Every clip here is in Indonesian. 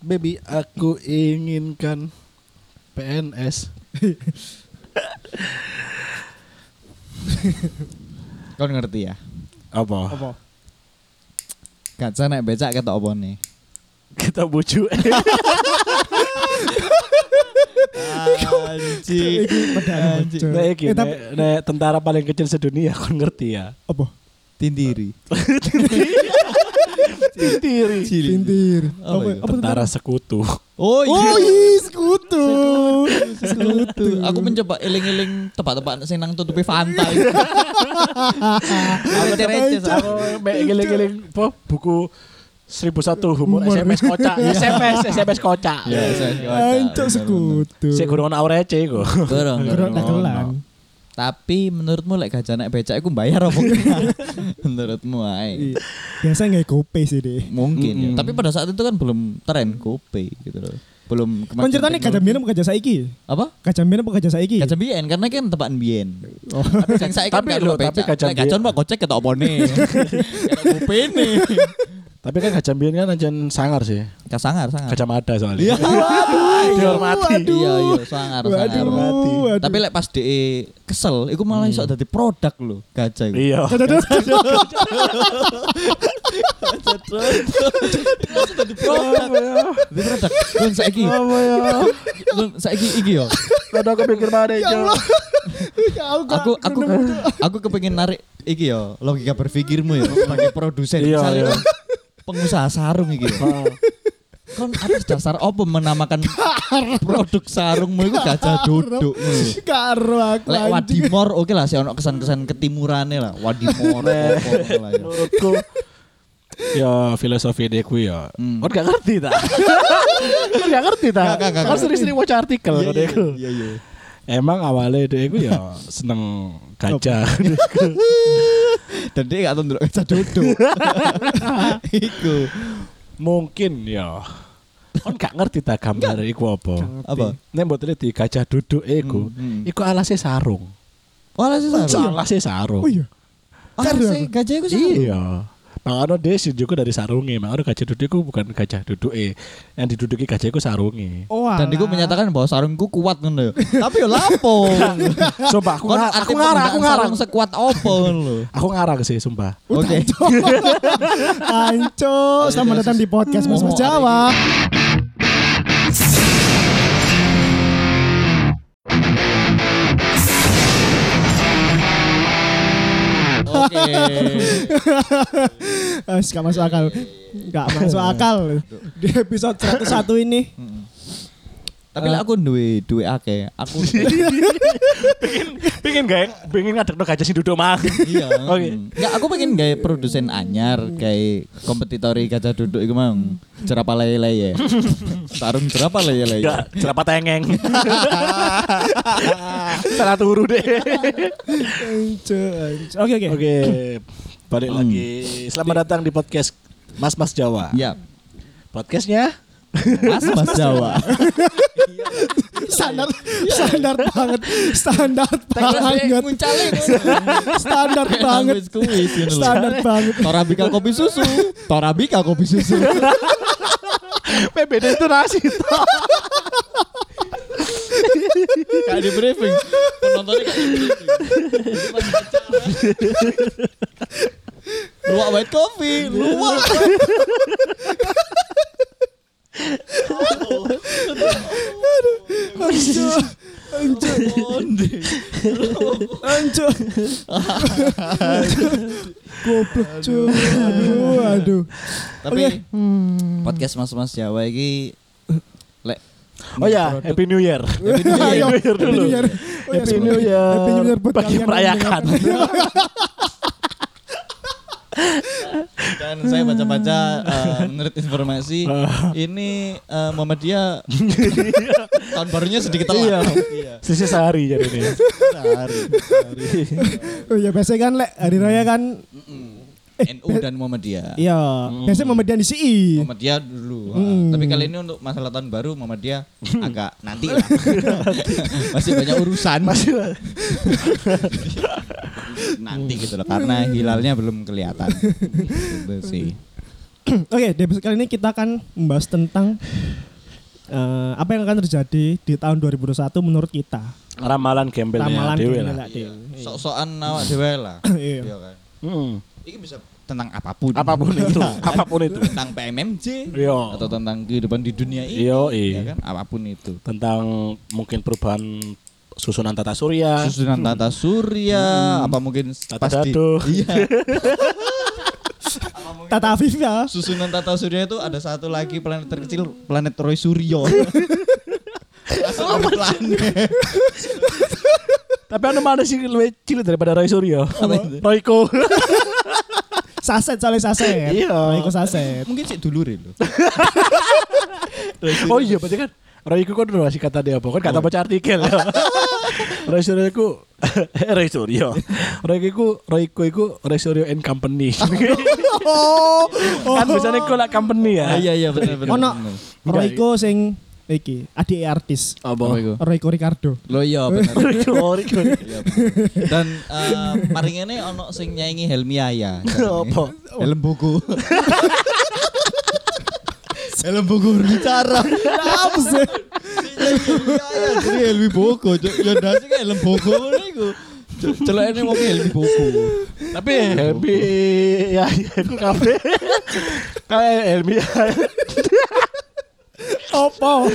Baby, aku inginkan PNS. Kau ngerti ya? Apa? Kaca naik becak ketok apa nih? Kita bujuk. Anjing. Nek tentara paling kecil sedunia aku ngerti ya. Apa? Tindiri. Tintir. Apa Tentara sekutu. Oh Oh iya, sekutu. Aku mencoba eling-eling tempat-tempat sing nang tutupi pantai. Aku receh Aku ngeling-ngeling buku 1001 humor SMS kocak. SMS kocak. Ya, Ancok sekutu. Sik gurung ana receh iku. Kurang dagelan. Tapi menurutmu lek gajah naik becak iku bayar apa enggak? Menurutmu ae. Biasa nggak GoPay sih deh. Mungkin ya. Tapi pada saat itu kan belum tren GoPay gitu loh. Belum Kan ceritanya gajah mbiyen apa gajah saiki? apa? Gajah mbiyen apa gajah saiki? Gajah biyen karena kan tebakan biyen. Oh. Tapi saiki kan tapi gajah Lek gajah mbak gocek ketok opone. Ketok GoPay nih. Tapi kan gajah mbiyen kan anjen sangar sih. Sangar. Gajah Mada soalnya. Iya. Dihormati. Iya, sangar. Waduh. Tapi lek pas DE kesel, iku malah iso dadi produk lho, gajah iku. Iya. Dadi produk. Lun saiki. Apa ya? Lun saiki iki yo. Ada kepikir mana itu? Aku kepengin narik iki yo, logika berpikirmu ya sebagai produsen Iya, misalnya iya. kan pengusaha sarung iki yo. Kan atas dasar apa menamakan produk sarungmu itu gajah duduk. Karo aku. Lek Wadimor oke lah sih ono kesan-kesan ketimurane lah. Wadimor apa lah ya. Menurutku ya filosofi deku ya. Kau gak ngerti tak? Kau gak ngerti tak? Gak. Kau sering-sering baca artikel kau deku. Iya. Emang awalnya deku ya seneng gajah. Dan dia gak tau ndelok gajah duduk. Iku. Mungkin ya. Kau gak ngerti tak gambar iku apa? Apa? Nek mbok teliti gajah duduk iku, iku alasnya sarung. Wala sih sarung. Alasnya sarung. Oh iya. Alasnya gajah iku sarung. Iya. Makanya dia sih juga dari sarungnya. Makanya gajah duduk itu bukan gajah duduk yang diduduki gajah itu sarungnya. Oh. Dan iku menyatakan bahwa sarungku kuat ngono. Tapi yo lapo. Sumpah aku ngarang. Sarung sekuat opo lho. Aku ngarang sih sumpah. Oke. Ancok, selamat datang di podcast Mas Jawa. Oke. Gak masuk akal. Gak masuk akal. Di episode 101 ini. Tapi lek aku duwe akeh. Aku pengen ngadekno gajah sing duduk mang. iya. Oke. Enggak, aku pengen gawe produsen anyar kayak kompetitori gajah duduk iku mau. Jerapah lele ya. Sarung jerapah lele. Enggak, jerapah tengeng. Salah turu deh. Oke. Oke. Balik lagi. Selamat datang di podcast Mas Jawa. Iya. Podcastnya Mas Jawa. Standar banget. Standar banget. Standar banget. Standar banget. Torabika kopi susu. PBD itu nasi. Kayak di briefing. Penontonnya kayak di briefing. Luwak white coffee, luwak. Anjir. Goblok cuy. Aduh. Tapi podcast Mas Jawa iki lek Oh ya, Happy New Year. Ayo, Happy New Year dulu. Happy New Year. Happy New Year buat bagi kalian merayakan. Dan saya baca-baca menurut informasi ini Muhammadiyah tahun barunya sedikit telat. Iya. Sisa sehari jadi ini. Sehari. Oh ya biasanya kan lek hari raya kan NU dan Muhammadiyah. iya, biasanya Muhammadiyah di CI. Muhammadiyah dulu. Tapi kali ini untuk masalah tahun baru Muhammadiyah agak nanti lah. Masih banyak urusan. Nanti gitu loh karena hilalnya belum kelihatan. Gitu sih. Oke, di episode kali ini kita akan membahas tentang apa yang akan terjadi di tahun 2021 menurut kita. Ramalan gembelnya Ramalan dhewe gembel lah. dhewe. Sok-sokan awak dhewe lah. Iya. Iya kan. Ini bisa tentang apapun. Apapun itu, apapun itu. Tentang PMMJ Iya. atau tentang kehidupan di dunia ini. Iya. Ya kan, apapun itu. Tentang mungkin perubahan susunan tata surya. Susunan tata surya, apa mungkin Tata pasti. dado. Iya. Tata Afif ya. Susunan tata surya itu ada satu lagi planet terkecil, planet Roy Suryo. Apa planet? Tapi anu mana sih lebih cilik daripada Roy Suryo? Royko. Saset soalnya saset. Iya. Royko saset. Mungkin sih dulurin loh. Oh iya, berarti kan Royko kan udah masih kata dia apa? Kan kata baca artikel ya. Roy Suryo iku Roy Suryo. Royko iku Roy Suryo and Company. Kan biasanya kok lah company ya. Iya benar. Ono Royko sing iki adik artis. Apa? Royko Ricardo. Lo iya benar. Royko. Dan mari ngene ono sing nyaingi Helmi Aya. Apa? Helm buku. Helm buku bicara. Apa sih? Jadi Helmi buku. Ya ndase kan helm buku ngono iku. Celokane wong Helmi buku. Tapi Helmi ya aku kabeh. Kayak Helmi ya. Apa?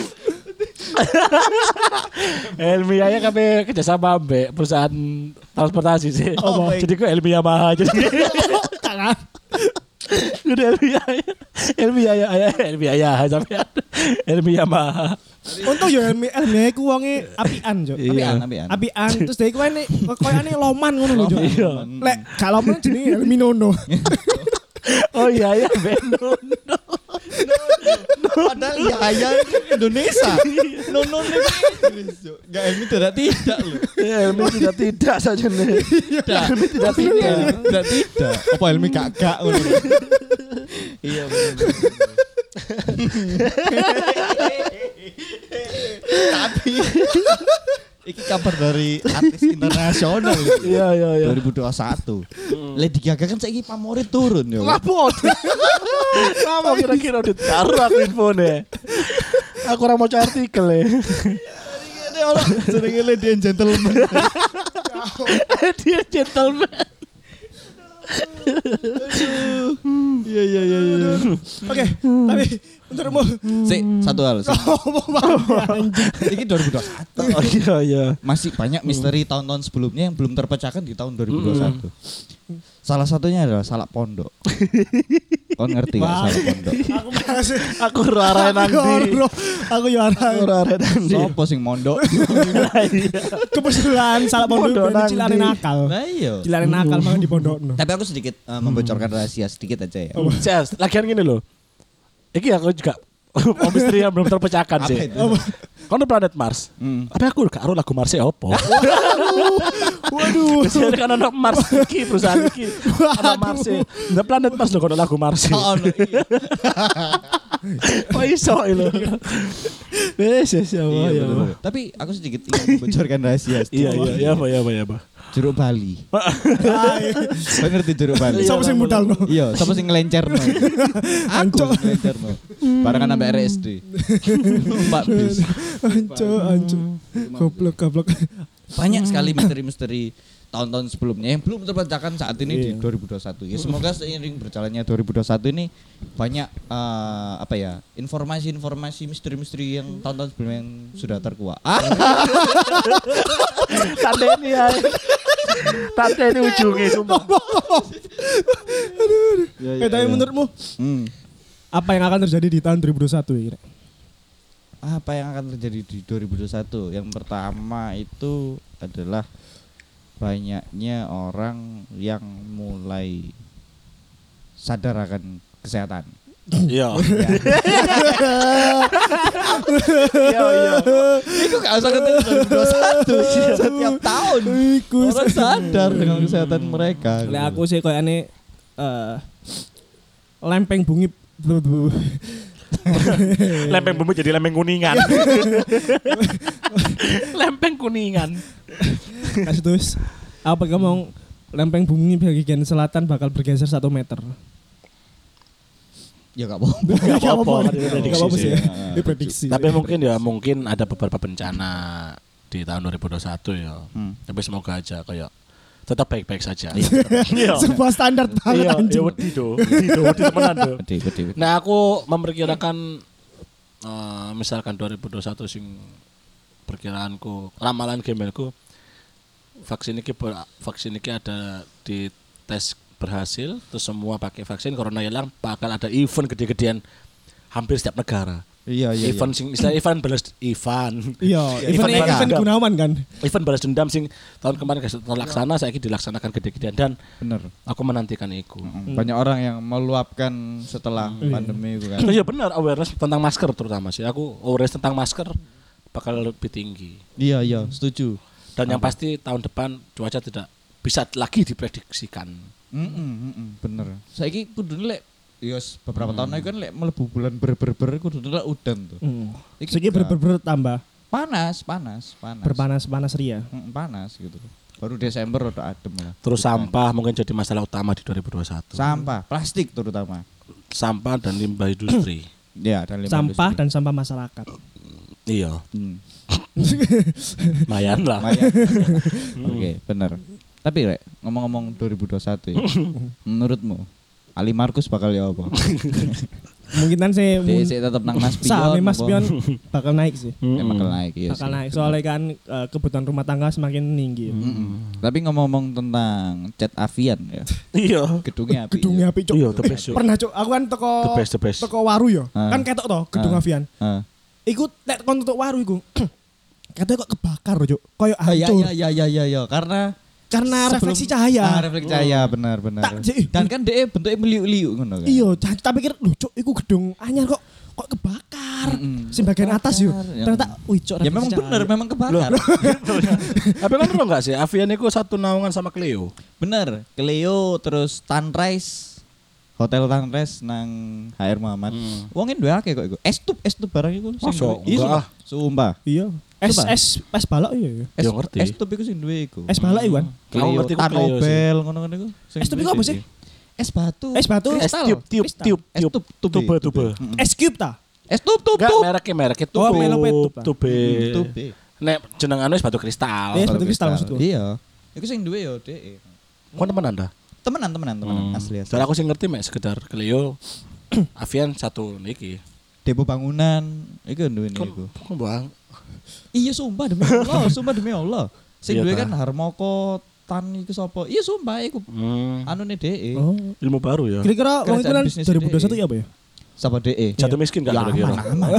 Helmi ya kabeh kerjasama ambek perusahaan transportasi sih. Apa? Jadi kok Helmi Yamaha jadi. Tangan. Udah Helmi ya sampai Helmi Yamaha. Untung ya Elmi iku wonge apian, Cuk. Iya. Apian terus dhek kowe koyane loman ngono lho, Cuk. Iya. Lek gak loman jenenge Elmi Nono. Oh iya Benono. Padahal Yaya Indonesia. Nono Inggris. Enggak Helmi tidak loh. Helmi tidak saja nih. Helmi tidak. Apa Helmi gak ngono. Iya benar. Tapi iki kabar dari artis internasional. Iya. 2021. Lady Gaga kan saiki pamore turun yo. Lapor. Apa kira-kira ditaruh aku infone. Aku ora maca artikel ya. Ini ono jenenge Lady and Gentleman. Dia gentleman. Iya. Oke, tapi menurutmu Satu hal. Ini 2021. Oh iya. Masih banyak misteri tahun-tahun sebelumnya yang belum terpecahkan di tahun 2021. Salah satunya adalah salak pondok. Kau ngerti gak salak pondok? aku masih Aku rara nanti. Aku yo Aku rara nanti. Sopo sing mondok? kebetulan salah pondok ben cilane nakal. Nah iya. Cilane nakal banget di pondokno. Tapi aku sedikit membocorkan rahasia sedikit aja ya. Jas, lagian gini loh. Iki aku juga misteri yang belum terpecahkan Apa sih. itu? Kono planet Mars. Tapi aku gak aro lagu Mars opo. Waduh. Biasanya kan ono Mars iki perusahaan iki. Ono Mars. Ndak planet Mars lho kono lagu Mars. Oh, no, iya. Oh iso lho. Wes ya. Iya, bener-bener. Tapi aku sedikit ingin membocorkan rahasia. Iya. Apa. Jeruk Bali. Kau ngerti jeruk Bali? Siapa sing mudalno? Iya, siapa sing ngelencerno? Aku sing ngelencerno. Barengan sampai RSD. Mbak bis. Anco. Goblok. Banyak sekali misteri-misteri tahun-tahun sebelumnya yang belum terpecahkan saat ini di 2021. Ya, semoga seiring berjalannya 2021 ini banyak informasi-informasi misteri-misteri yang tahun-tahun sebelumnya yang sudah terkuak. Tante ini ujungnya sumpah. Tapi menurutmu apa yang akan terjadi di tahun 2021 ini? Apa yang akan terjadi di 2021? Yang pertama itu adalah banyaknya orang yang mulai sadar akan kesehatan. Iya. Itu gak usah ketemu 2021. Setiap tahun orang sadar dengan kesehatan mereka. Lek aku sih koyane lempeng bumi Lempeng bumi jadi lempeng kuningan. Lempeng kuningan. kasih terus apa ngomong lempeng bumi bagian selatan bakal bergeser 1 meter. Ya gak apa-apa. Gak apa-apa, kan itu Gak prediksi apa-apa sih sih. ya. Ini prediksi. Tapi mungkin ada beberapa bencana di tahun 2021 ya. Tapi semoga aja kayak tetap baik-baik saja. Iya. Sebuah standar banget Iya, anjing. wedi temenan do. Betul. Nah, aku memperkirakan misalkan 2021 sing perkiraanku, ramalan gemelku vaksin ini ada di tes berhasil, terus semua pakai vaksin, corona hilang, bakal ada event gede-gedean hampir setiap negara. Iya. Event sing istilah event Iya, event Gunawan kan. event balas dendam sing tahun kemarin gak terlaksana, saiki dilaksanakan gede-gedean dan Bener. aku menantikan itu. Banyak orang yang meluapkan setelah pandemi itu kan. Iya benar, awareness tentang masker terutama sih. Aku awareness tentang masker bakal lebih tinggi. Iya, setuju. Dan yang pasti tahun depan cuaca tidak bisa lagi diprediksikan. Bener. Saiki kudune lek beberapa tahun lagi kan lek mlebu bulan ber kudune lek udan tuh. Segi ber tambah Panas. berpanas-panas ria. Panas gitu. Baru Desember udah adem lah. Terus sampah mungkin jadi masalah utama di 2021. Sampah, plastik terutama. Sampah dan limbah industri. Ya, dan limbah Sampah industri. dan sampah masyarakat. Iya, Hmm. lumayan lah. Oke, bener. Tapi Rek, ngomong-ngomong 2021 ya. Menurutmu Ali Markus bakal ya apa? Mungkin kan saya Dia tetap nang Mas Pion. Sahame Mas apa? Pion bakal naik sih. Bakal naik iya Bakal sih. naik soalnya kan kebutuhan rumah tangga semakin tinggi. Tapi ngomong-ngomong tentang Jet Avian ya. Iya. Gedungnya api. Gedungnya api cok. Iya, the best. Cuk. Pernah cok, aku kan The best. toko waru ya. Ah. Kan ketok toh gedung Ah. avian. Heeh. Iku nek kon tutuk waru iku. Katanya kok kebakar cok. Koyo hancur. Iya. Karena Sebelum- refleksi cahaya. Refleksi cahaya benar. Tak, Ji. Dan kan dia bentuknya meliuk-liuk ngono kan. Iya, tak pikir lho cok iku gedung anyar kok kebakar. Sing bagian atas yo. Ya. Ternyata wih cok. Ya refleksi memang cahaya. benar, memang kebakar. Tapi kan lo enggak sih, Avian itu satu naungan sama Cleo. Bener, Cleo terus Sunrise, Hotel Sunrise nang HR Muhammad. Wongin duwe akeh kok iku. Es tup barang iku sing Masa? duwe. Iya, Enggak. sumpah. Iya. Es Coba. es balok iya. Es, Ya, ngerti. es tup iku sing duwe iku. Es balok iku kan. Aku Cleo, ngerti ku Cleo Tanobel ngono-ngono iku. Sing Es tup duwe iku apa sih? sih? Es batu. Es batu. Es Kristal. tiup. Es tube. Es cube ta? Es tube. Enggak mereknya Oh, mereknya tube. Tube. Tube. Nek jenengane wis batu kristal. Iya. batu kristal maksudku. Iya. Iku sing duwe yo dhek. Kon temen Anda? Temenan asli. Soalnya aku sih ngerti mek sekedar Cleo Avian satu niki. Depo bangunan iku duwe iku. Kok Bang? Iya sumpah demi Allah. Sing Iya duwe ta? kan Harmoko Tan iku sapa? Iya sumpah iku anune DE. Oh. Ilmu baru ya. Kira-kira wong itu Kerajaan kan bisnis 2021 ya apa ya? Sapa DE? Jatuh miskin gak Ya, kira-kira? aman.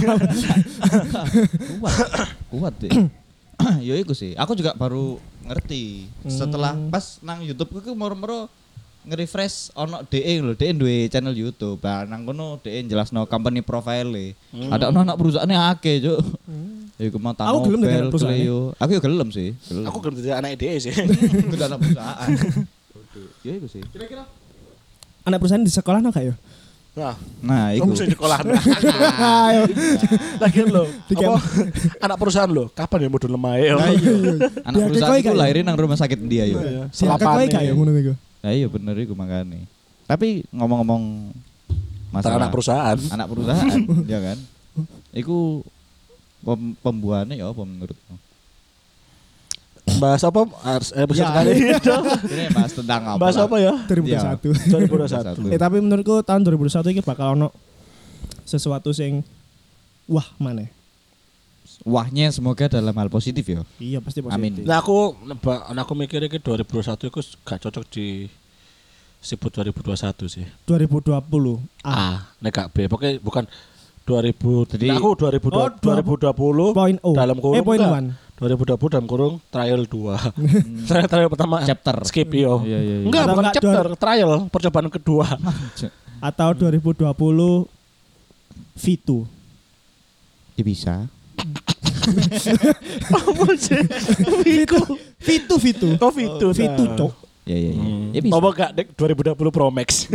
Kuat deh. Ya iku sih. Aku juga baru ngerti setelah pas nang YouTube ku moro-moro nge-refresh ono DE lho, DE duwe channel YouTube. Nah, nang kono DE jelasno company profile. Ada ono anak perusahaane akeh, Cuk. Iku mau Aku gelem dadi anak perusahaane. Cleo. Aku ya gelem sih, gelem. Aku belum jadi anak ide sih. Udah anak perusahaan. Ya iku sih. Anak perusahaan di sekolah no gak ya? Nah, Nah, iku. kamu bisa sekolah. Ayo. Lagi lo, Di apa anak perusahaan lo? Kapan ya modal lemah ya? Anak Ya, perusahaan kekoi itu kayak- lahirin nang rumah sakit dia yo. Siapa kowe gak ya ngono iku? Nah, iya bener iku makane. Tapi ngomong-ngomong Masalah anak perusahaan. anak perusahaan, ya kan? Iku pembuahannya ya apa menurutmu? Bahas apa? Episode Ya. kali ini. Ini bahas tentang apa? Bahas lah? apa ya? 2021. 2021. Tapi menurutku tahun 2021 ini bakal ono sesuatu sing wah mana? Wahnya semoga dalam hal positif ya. Iya pasti positif. Amin. Nah aku mikirnya ke 2021 itu gak cocok di sebut 2021 sih. 2020. Nek gak B. Pokoknya bukan 2000. Jadi- Nah, aku 2020 Point O. dalam kurung point enggak. 1. 2020 dalam kurung trial 2. trial pertama Chapter. skip yo. Iya. Enggak, Atau bukan enggak, chapter, trial percobaan kedua. Atau 2020 V2. Ya bisa. Apa sih? V2. Covid itu. V2 cok. Ya. Ya bisa. Apa enggak dek 2020 Pro Max?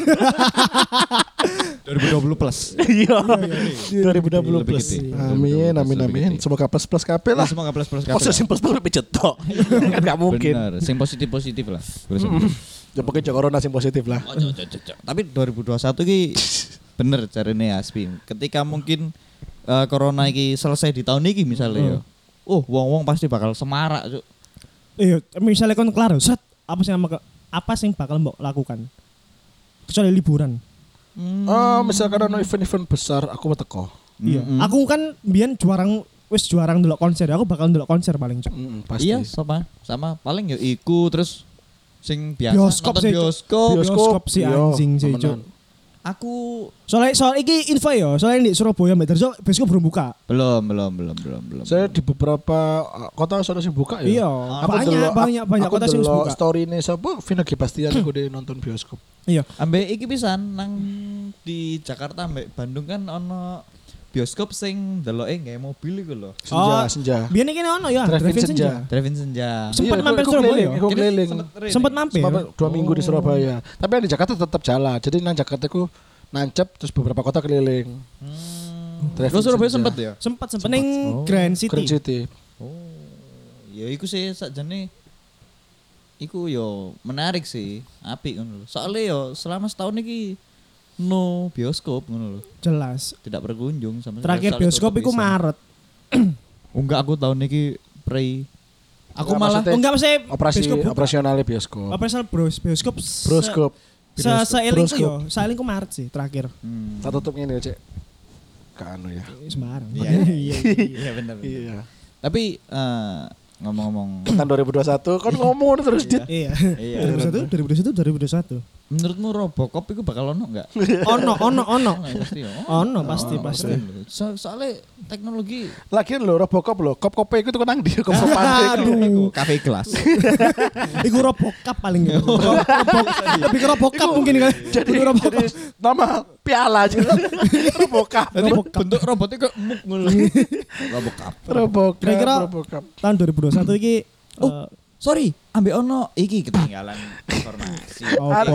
2020 plus. Iya. 2020 Lebih plus. gede. Amin. Lebih gede. Semoga plus kabeh Lah lah. semoga plus Masa sing plus pijet tok. Kan enggak mungkin. Bener, sing positif lah. Ya pokoknya corona sing positif lah. Tapi 2021 ki bener jarene Aspi. Ketika mungkin corona iki selesai di tahun ini misalnya ya. Wong-wong pasti bakal semarak, Cuk. Iya, misalnya kon kelar, set apa sing bakal mbok lakukan? Kecuali liburan. Misalkan ada event-event besar aku mau teko. Iya. Aku kan biyen jarang ndelok konser. Aku bakal ndelok konser paling Cuk. Pasti. Iya, sama paling ya iku terus sing biasa Bioskop nonton sih, Cuk. bioskop. Bioskop si Iya, anjing sih, temenan. Cuk. Aku Soal iki info ya, soalnya di Surabaya Mbak Darjo bioskop belum buka. belum. Saya di beberapa kota sudah sih buka ya. Iya, banyak kota sing buka. buka. Story ini siapa? Vina Gebastian aku deh nonton bioskop. Iya. ambek iki pisan nang di Jakarta ambek Bandung kan ono bioskop sing deloke nggae mobil iku lho. Senja. Biyen iki ono ya, Drive-in Drive-in senja. Drive-in senja. Sempat Iya, mampir aku Surabaya. keliling, aku keliling. Sempat mampir. 2 minggu di Surabaya. Tapi yang di Jakarta tetap jalan. Jadi nang Jakarta aku nancep terus beberapa kota keliling. Drive-in Terus Surabaya senja. sempet ya? Sempat ning Grand City. Grand City. Ya iku sih sakjane iku yo menarik sih, apik ngono lho. Soale yo selama setahun iki no bioskop ngono lho. Jelas. Tidak berkunjung sama sekali. Terakhir Soalnya bioskop tutup iku pisan. Maret. Enggak, aku tahun iki pre. Aku Enggak, malah maksudnya Enggak mesti operasi buka. operasionalnya bioskop. Operasional bioskop. Bioskop. Seelingku yo, seelingku Maret sih terakhir. Tak tutup ngene, Cek. Kanu ya. Sembarang. Iya benar. Iya. Tapi ngomong-ngomong Tahun 2021 kan ngomong terus Dit. Iya. Iya. 2021. Menurutmu Robocop itu bakal ono enggak? Ono. Pasti ya. Ono pasti. Soalnya teknologi Lagian lho Robocop lho, kop-kope itu kan nang di kop-kopan Aduh. kafe kelas. Iku Robocop paling ya. Lebih ke Robocop mungkin kan. Jadi nama piala aja. Robocop. Jadi bentuk robotnya kayak muk ngono. Robocop. Robocop. Kira-kira Robocop. tahun 2021 iki Sorry, ambek ono iki ketinggalan informasi.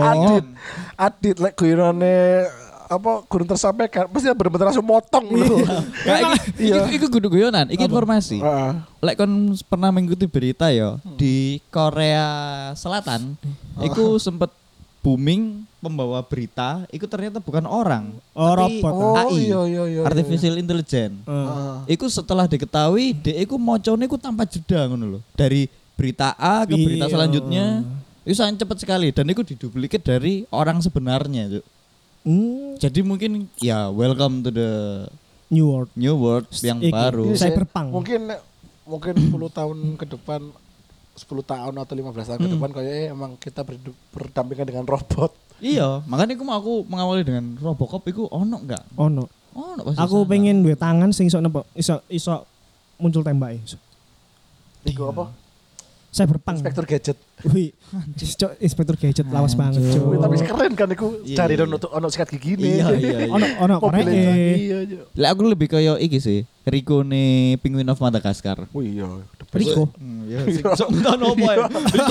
Adit lek guyonane apa gurun tersampaikan pasti bener-bener langsung motong lho. Kayak iku kudu guyonan, iki informasi. Heeh. Lek kon pernah mengikuti berita ya di Korea Selatan, iku sempet booming pembawa berita, iku ternyata bukan orang, tapi robot. AI, iya. artificial intelligence. Iku setelah diketahui, dia iku mocone iku tanpa jeda ngono lho. Dari berita A ke berita selanjutnya, itu sangat cepat sekali dan itu diduplikat dari orang sebenarnya, Cuk. Jadi mungkin ya welcome to the New World. new world yang Iki. baru. Cyberpunk. Mungkin 10 tahun ke depan 10 tahun atau 15 tahun ke depan kayaknya emang kita berdampingan dengan robot. Iya, makanya aku mengawali dengan Robocop iku ono enggak? Ono. Ono pasti. Aku sana. pengen duwe tangan sing iso muncul tembake. Iku apa? Cyberpunk. Inspektur gadget. Wih, Cok, Inspektur Gadget lawas banget, Cok. Wih, tapi keren kan iku Iya, cari iya. ono sikat gigi nih. Iya. Ono Mobilnya korek. iya. Lah aku lebih kayak iki sih, Rico nih Penguin of Madagascar. Oh iya. Rico. Iya, sok entar opo ya. Rico.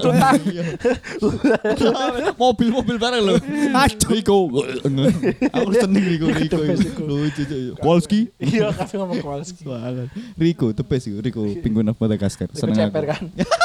Mobil bareng lho. Aduh. Rico. Aku seneng Rico. Lucu. Kowalski. Iya, kasih ngomong Kowalski. Rico, the best iku, Rico Penguin of Madagascar. Iku Seneng ceper aku. kan.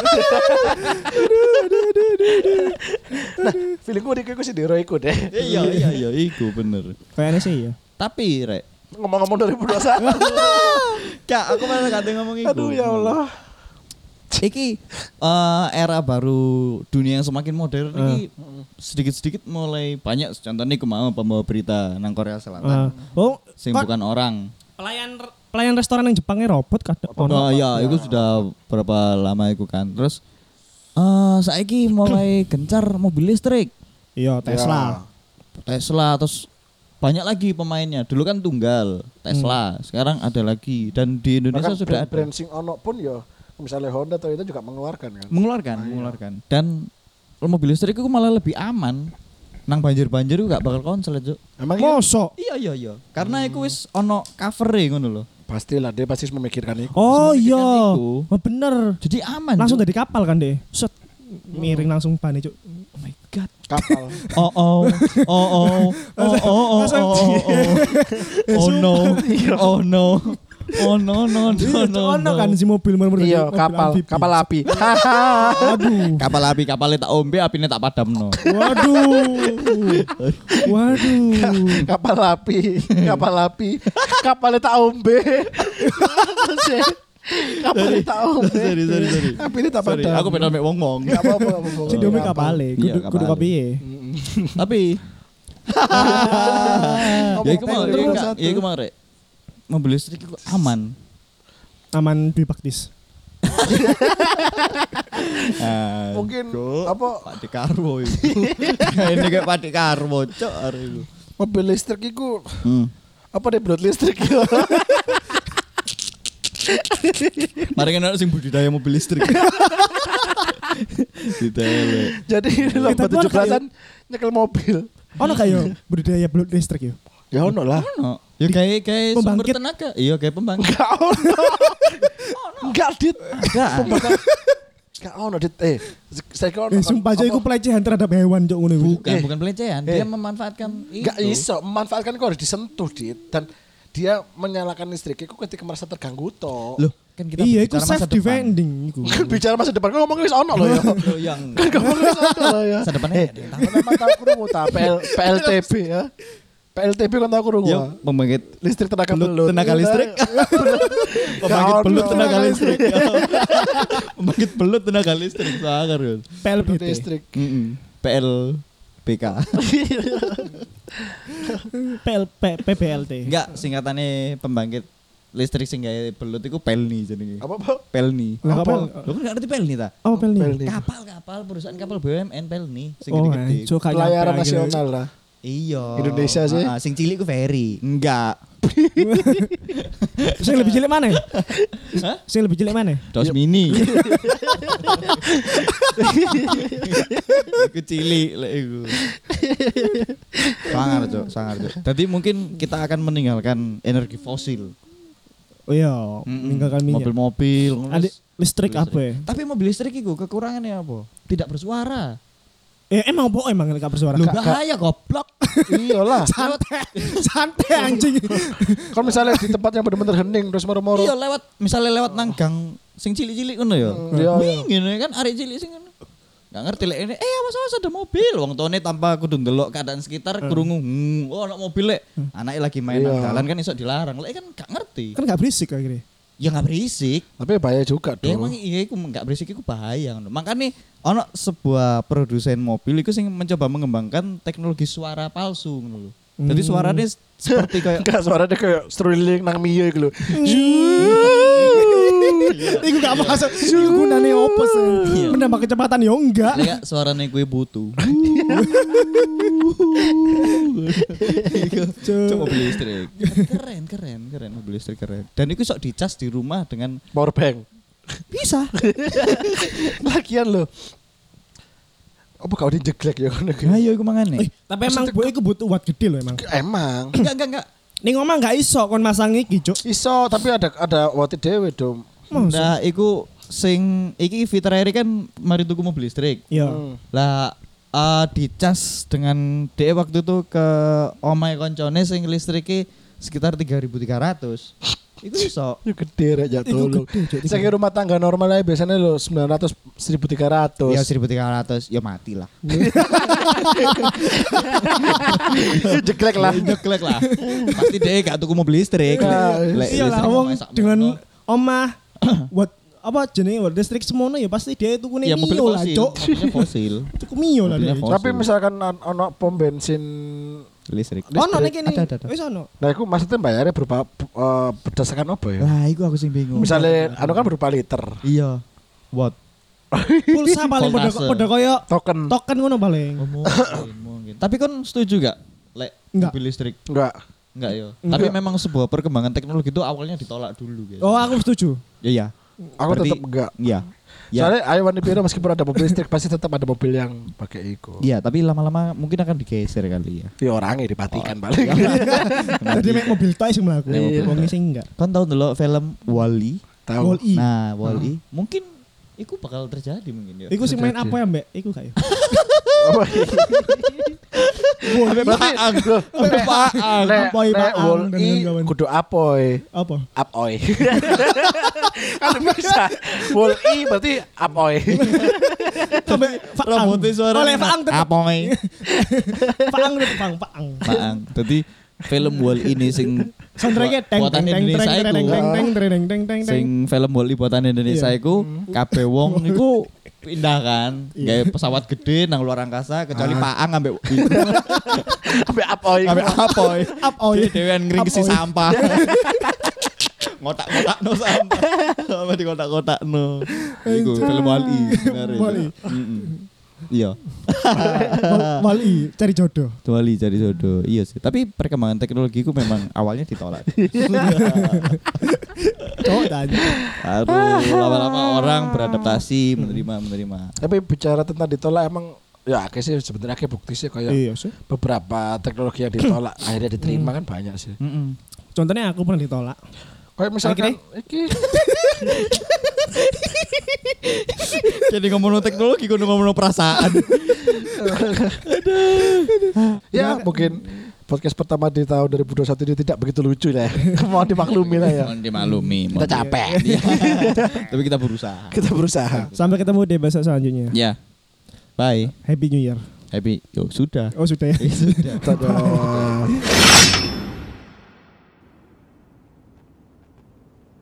Nah, feelingku iku sih diro iku deh. Iya, iku bener. Kayaknya sih ya. Tapi rek, Ngomong-ngomong 2021. Kak, aku malah gak ngomong iku. Aduh ya Allah. Iki era baru dunia yang semakin modern iki sedikit-sedikit mulai banyak contohnya kemau pembawa berita nang Korea Selatan sing bukan orang. Pelayan restoran yang Jepangnya robot kadang Oh iya, itu sudah berapa lama itu kan. Terus saiki mulai gencar mobil listrik. Iya, Tesla. Tesla terus banyak lagi pemainnya. Dulu kan tunggal Tesla, sekarang ada lagi dan di Indonesia Bahkan sudah ada. brand sing ono pun ya misalnya Honda atau itu juga mengeluarkan kan. Mengeluarkan. Dan mobil listrik itu malah lebih aman. Nang banjir-banjir itu gak bakal konslet, Cuk. Emang iya? Mosok. Iya. Karena itu wis ono cover-e ngono lho. Pastilah dia pasti memikirkan itu. Oh iya. itu. Oh, bener. Jadi aman. Langsung Cuk. dari kapal kan deh. Set. Miring langsung bane, Cuk. Oh my god. Kapal. Oh no. Oh no. Ono kan si mobil murmur. Iya, kapal api. Waduh. Kapal api, kapalnya tak ombe, apine tak padamno. Waduh. Kapal api. Kapalnya tak ombe. Kapalnya tak ombe. Sorry. Apine tak Sorry, padam. aku pengen mek wong-wong. Enggak apa-apa. Si dome kapale, Iya, kudu kapale. kepiye? Tapi ya iku mau, ya iku mau rek. Mobil listrik iku aman. Aman bipaktis. Mungkin apa Pak Dekarwo itu. Ini kayak Pak Dekarwo, cok hari itu. mobil listrik iku apa deh blood listrik ya. Mari kan sing budidaya mobil listrik. Ditele. Jadi ini lomba Tapi ono 17-an nyekel mobil. Ono kayak budidaya blood listrik ya. Ya ono lah. No. Ya kayak sumber Pembangkit. tenaga. Iya kayak pembangkit. Enggak ono. Enggak dit. Enggak. Enggak ono dit. Saya kira Sumpah aja iku pelecehan terhadap hewan cok ngono iku. Bukan pelecehan, dia memanfaatkan Enggak itu. iso, memanfaatkan kok harus disentuh dit dan dia menyalakan listrik itu ketika merasa terganggu toh. Loh, kan kita Iya, iku bicara masa self defending iku. Kan bicara masa depan kok ngomong wis ono loh ya. depan. Loh, yang Kan ngomong wis ono loh ya. masa depannya ada yang tahu. Tahu tahu krungu ta PLTB ya. PLTB kan tahu krungu. Yo, pembangkit Listrik tenaga belut belut. tenaga listrik. Pembangkit belut tenaga listrik. Pembangkit belut tenaga listrik. Sangar yo. PLBT. Listrik. PLBK. PBLT. Enggak, singkatannya pembangkit listrik sing gawe belut iku Pelni jenenge. Apa apa? Pelni. Lah Apa? kapal. Lho kan gak ngerti Pelni ta? Oh, Pelni. Pelni. Kapal perusahaan BUMN Pelni sing Oh, gede-gede. cok kayak Pelayaran nyampe akhirnya. nasional lah. Iya. Indonesia sih. Sing cilik ku ferry. Enggak. Sing lebih cilik mana? Hah? Sing lebih cilik mana? Dos mini. Iku cilik lek iku. Sangar, Cok. Jadi mungkin kita akan meninggalkan energi fosil. Oh iya, meninggalkan minyak. Mobil-mobil. Ada listrik apa ya? Tapi mobil listrik iku kekurangannya apa? Tidak bersuara. Emang apa emang gak bersuara? Loh bahaya goblok. Iyalah. Santai anjing. Kan misalnya di tempat yang benar-benar hening terus moro-moro. Iya misalnya lewat nang gang sing cilik-cilik ngono ya. Iya. Ngene kan arek cilik sing ngono. Gak ngerti lek ini awas ada mobil wong tuane tanpa kudu ndelok keadaan sekitar krungu ono mobil lek anake lagi main nang Iya. dalan kan iso dilarang lek kan gak ngerti Kan gak berisik akhirnya. ya gak berisik Tapi bahaya juga ya dong. emang iya iku gak berisik iku bahaya ngono makane ono sebuah produsen mobil iku sing mencoba mengembangkan teknologi suara palsu ngono lho jadi suaranya seperti kayak Enggak suaranya kayak struling nang Mio iku lho. Iku gak masuk. Iku gunane opo sih? Iya. Menambah kecepatan ya enggak. kayak suaranya gue butuh Coba mobil listrik. Keren mobil listrik keren. Dan itu sok dicas di rumah dengan Power bank. bisa. Lagian lho. Apa kau dijeglek ya kono iki? Ayo iku mangane. Tapi emang bu iku butuh watt gede loh emang. Emang Enggak. Ning omah gak iso kon masang iki, Cuk. iso tapi ada wati dhewe dong. Nah, iku sing iki fitur air kan mari tuku mobil listrik. Iya. Lah dicas dengan DE waktu itu ke omahe koncone sing listrike sekitar 3.300. Iku iso. Itu gede rek ya Iku tolong. gede, Cuk. Saya kira rumah tangga normal aja biasanya lo 900 1300. Ya 1.300 ya mati lah. Jeglek lah. Nyeklek lah. Pasti DE gak tuku mobil listrik. Nah, Lek Iya lah listrik wong omahe sak dengan mono. omah buat apa jenenge watt listrik semono ya pasti dia itu ya mobil Mio lah, fosil. Cuk. Mobilnya fosil. Tuku Mio lah Mobilnya dia. fosil. Tapi misalkan ono pom bensin Listrik. Ono nek kene. Ada. Wis ono. nah itu maksudnya bayarnya berupa berdasarkan apa ya? Wah, iku aku sing bingung. Misalnya anu kan berupa liter. Iya. What? Pulsa paling Voltase. pada koyo Token. token ngono paling. Mungkin. Tapi kan setuju gak? Lek Enggak. mobil listrik. Enggak. Enggak ya. Enggak. Tapi memang sebuah perkembangan teknologi itu awalnya ditolak dulu guys. Oh, aku setuju. Iya. Aku Berarti- tetap enggak. Iya. Ya. Soalnya Ayo Wani Piro meskipun ada mobil listrik pasti tetap ada mobil yang pakai itu. Iya, tapi lama-lama mungkin akan digeser kali ya. Ya orangnya dipatikan balik. Tadi mek mobil toy sing mlaku. Iya. Wong sing enggak. Kan tahu dulu film Wall-E. Tahu. Wall-E. Nah, Wall-E mungkin iku bakal terjadi mungkin ya. Iku sing main Terjadi. apa ya, Mbak? Iku kayak. Sampai paang. Sampai paang. Apoy paang dan Wol-i kawan-kawan. kudu apoy. Apa? Apoy. Kan bisa. Wol-i berarti apoy. Sampai faang. Rambutnya suara. Oleh faang tetap. Apoy. Faang tetap faang. Paang. Dadi film Wall ini sing Soundtracknya teng buatan teng teng Indonesia teng iku. teng teng teng teng teng teng teng. Sing film Wall buatan Indonesia iku kabeh wong iku pindah kan, gawe pesawat gede nang luar angkasa kecuali Paang ambek Ambek apoy. ambek Apoy. Apoy. Dewean ngringkesi Apoy. sampah. Ngotak-ngotakno sampah. Sama di kotak-kotakno. Iku film Wall-E sebenarnya. Wall-E. Iya. Wali cari jodoh. Wall-E cari jodoh. Iya sih. Tapi perkembangan teknologi ku memang awalnya ditolak. Cowok tanya. Harus lama-lama orang beradaptasi, menerima. Tapi bicara tentang ditolak emang ya akeh sih sebenarnya akeh bukti sih kayak Iya sih. beberapa teknologi yang ditolak akhirnya diterima kan banyak sih. Contohnya aku pernah ditolak. Kayak misalkan iki Jadi ngomong teknologi, kudu ngomong perasaan. ya mungkin podcast pertama di tahun 2021 ini tidak begitu lucu lah ya. Mau dimaklumi lah ya. Mohon dimaklumi. Kita capek. Tapi kita berusaha. Kita berusaha. Sampai ketemu di episode selanjutnya. Ya. Bye. Happy New Year. Happy. Yo, sudah. Oh sudah ya. Sudah. Dadah.